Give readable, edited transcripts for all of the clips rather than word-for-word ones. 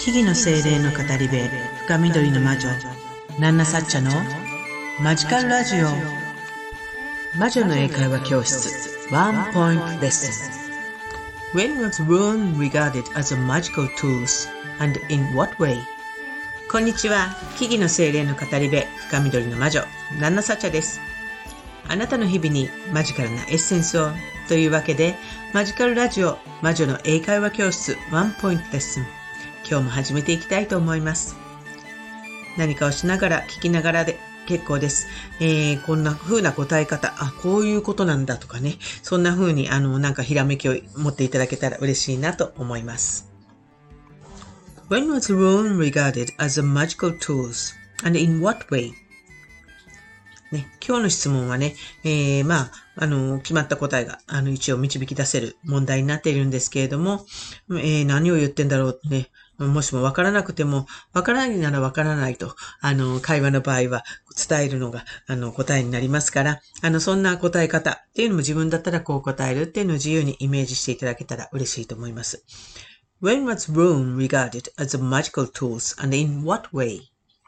木々の精霊の語り部、深緑の魔女、ナンナサッチャのマジカルラジオ。魔女の英会話教室、ワンポイントレッスン。When was rune regarded as a magical tool and in what way? こんにちは。木々の精霊の語り部、深緑の魔女、ナンナサッチャです。あなたの日々にマジカルなエッセンスをというわけで、マジカルラジオ、魔女の英会話教室、ワンポイントレッスン。今日も始めていきたいと思います。何かをしながら聞きながらで結構です。こんな風な答え方、こういうことなんだとかね、そんな風になんかひらめきを持っていただけたら嬉しいなと思います。When was rune regarded as a magical tool and in what way? ね、今日の質問はね、決まった答えが一応導き出せる問題になっているんですけれども、何を言ってんだろうね。もしもわからなくても、わからないならわからないと、会話の場合は伝えるのが、答えになりますから、そんな答え方っていうのも自分だったらこう答えるっていうのを自由にイメージしていただけたら嬉しいと思います。When was rune regarded as a magical tool and in what way?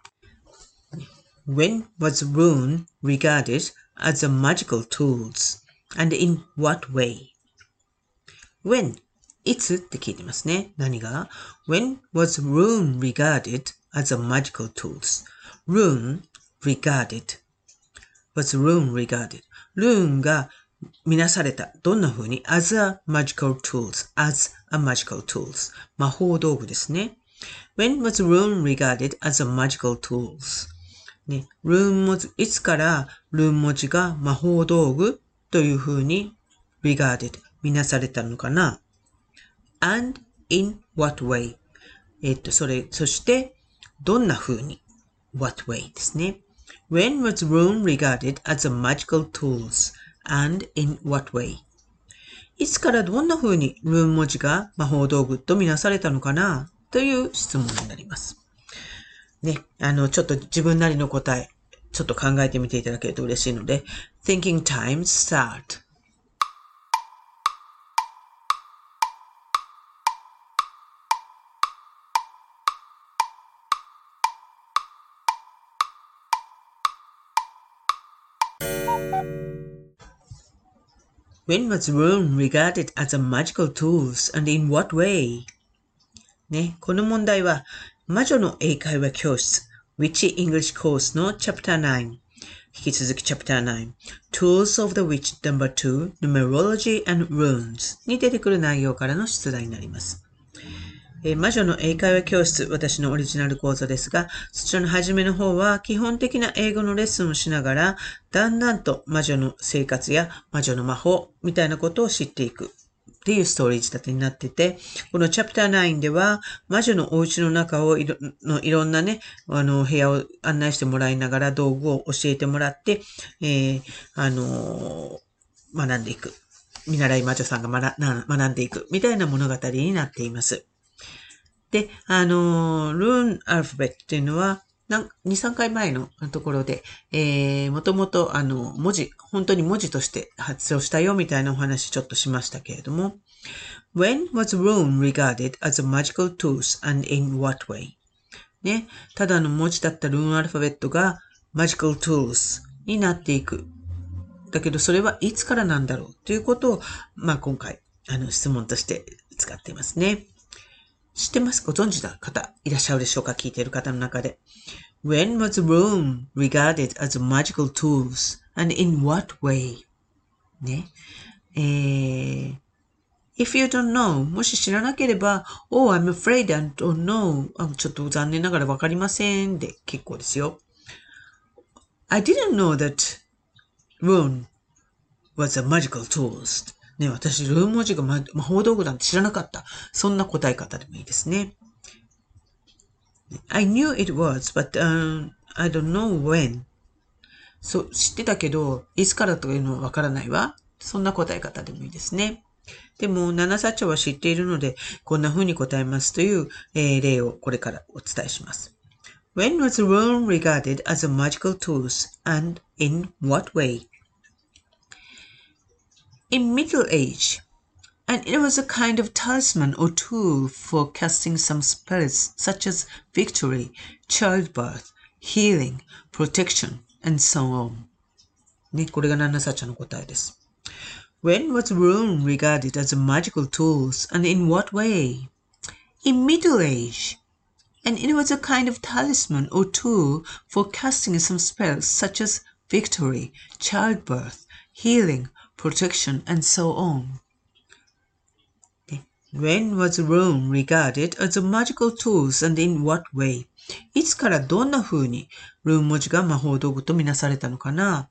When was rune regarded as a magical tool and in what way? Whenいつって聞いてますね。何が ?When was rune regarded as a magical tool? Rune regarded was rune regarded. rune が見なされた。どんな風に ?as a magical tools. as a magical tools. 魔法道具ですね。When was rune regarded as a magical tools? ね、rune 文字、いつから rune 文字が魔法道具という風に regarded 見なされたのかな？And in what way? そして、どんな風に what way ですね。When was rune regarded as a magical tool? And in what way? いつからどんな風にルーン文字が魔法道具とみなされたのかなという質問になります。ね、ちょっと自分なりの答え、ちょっと考えてみていただけると嬉しいので、Thinking time start.When was rune regarded as a magical tool and in what way? ね、この問題は魔女の英会話教室 Witchy English Course の Chapter 9引き続き Chapter 9 Tools of the Witch No.2 Numerology and Runes に出てくる内容からの出題になります。魔女の英会話教室、私のオリジナル講座ですが、そちらの初めの方は基本的な英語のレッスンをしながら、だんだんと魔女の生活や魔女の魔法みたいなことを知っていくっていうストーリー仕立てになってて、このチャプター9では魔女のお家の中をいろんなね、部屋を案内してもらいながら道具を教えてもらって、学んでいく。見習い魔女さんが学んでいくみたいな物語になっています。で、ルーンアルファベットっていうのは、2、3回前のところで、もともと本当に文字として発音したよみたいなお話ちょっとしましたけれども、When was rune regarded as a magical tool and in what way? ね、ただの文字だったルーンアルファベットが magical tools になっていく。だけどそれはいつからなんだろうということを、今回、質問として使っていますね。知ってますご存知の方いらっしゃるでしょうか聞いている方の中で。When was rune regarded as a magical tool and in what way? ね。If you don't know, もし知らなければ、Oh, I'm afraid I don't know. ちょっと残念ながらわかりませんで結構ですよ。I didn't know that rune was a magical tool. ね、私、ルーン文字が魔法道具なんて知らなかった。そんな答え方でもいいですね。I knew it was, but, I don't know when. そう、知ってたけど、いつからというのはわからないわ。そんな答え方でもいいですね。でも、ナナサッチャは知っているので、こんな風に答えますという、例をこれからお伝えします。When was rune regarded as a magical tool and in what way?In Middle Age, And it was a kind of talisman or tool for casting some spells such as victory, childbirth, healing, protection, and so on. ね、これがナンナサッチャの答えです。When was rune regarded as a magical tool, and in what way? In Middle Age. And it was a kind of talisman or tool for casting some spells such as victory, childbirth, healing, protection, and so on.When was rune regarded as a magical tool and in what way? いつからどんな風にルーン文字が魔法道具とみなされたのかな？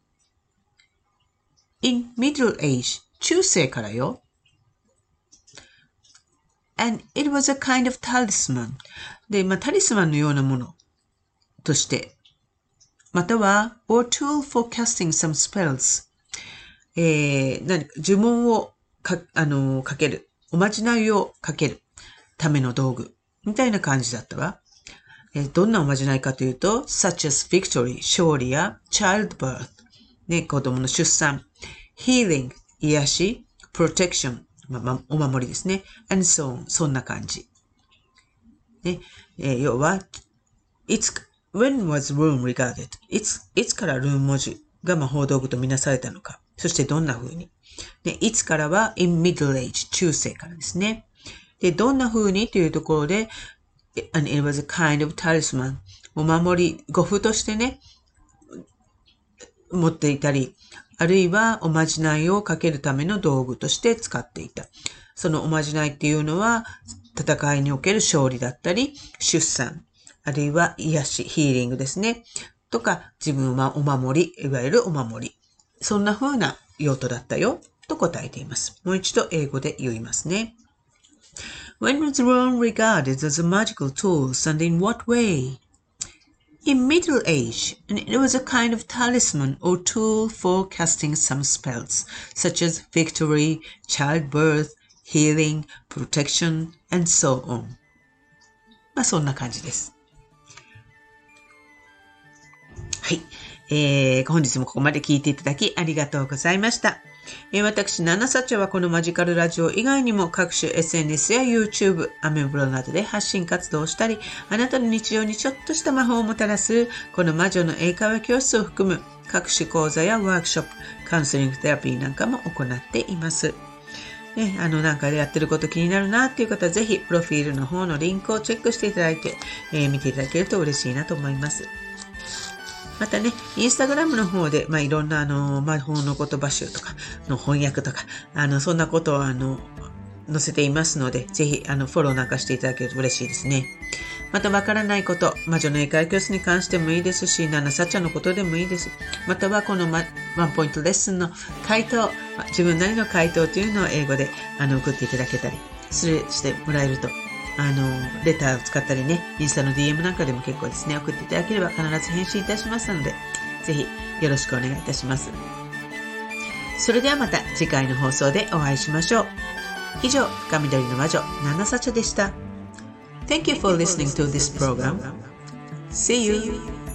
In Middle Age, 中世からよ。And it was a kind of talisman. で、タリスマンのようなものとして。または、or tool for casting some spells. 何か呪文をかける。おまじないをかけるための道具みたいな感じだったわ。どんなおまじないかというと、such as victory、勝利や childbirth、ね、子供の出産、healing、癒し、protection、お守りですね、and so on、そんな感じ。ね要は、when was rune regarded? いつからルーン文字が魔法道具とみなされたのか。そしてどんな風に。で、いつからは in middle age 中世からですね。で、どんな風にというところで、and it was a kind of talisman お守り、護符としてね、持っていたり、あるいはおまじないをかけるための道具として使っていた。そのおまじないっていうのは、戦いにおける勝利だったり、出産、あるいは癒し、ヒーリングですね。とか、自分はお守り、いわゆるお守り。そんな風な用途だったよ、と答えています。もう一度英語で言いますね。When was rune regarded as a magical tool, and in what way? In Middle Age, and it was a kind of talisman or tool for casting some spells, such as victory, childbirth, healing, protection, and so on. そんな感じです。はい。本日もここまで聞いていただきありがとうございました。私、ナナサチャはこのマジカルラジオ以外にも各種 SNS や YouTube、アメブロなどで発信活動をしたり、あなたの日常にちょっとした魔法をもたらすこの魔女の英会話教室を含む各種講座やワークショップ、カウンセリングセラピーなんかも行っています。なんかやってること気になるなっていう方はぜひプロフィールの方のリンクをチェックしていただいて、見ていただけると嬉しいなと思います。またね、インスタグラムの方で、いろんな魔法の言葉集とかの翻訳とか、そんなことを載せていますので、ぜひフォローなんかしていただけると嬉しいですね。またわからないこと、魔女の英会話教室に関してもいいですし、ナナサチャのことでもいいです。またはこのワンポイントレッスンの回答、自分なりの回答というのを英語で送っていただけたりしてもらえると、レターを使ったりね、インスタの DM なんかでも結構ですね、送っていただければ必ず返信いたしますので、ぜひよろしくお願いいたします。それではまた次回の放送でお会いしましょう。以上、深緑の魔女、ナナサチャでした。Thank you for listening to this program. See you!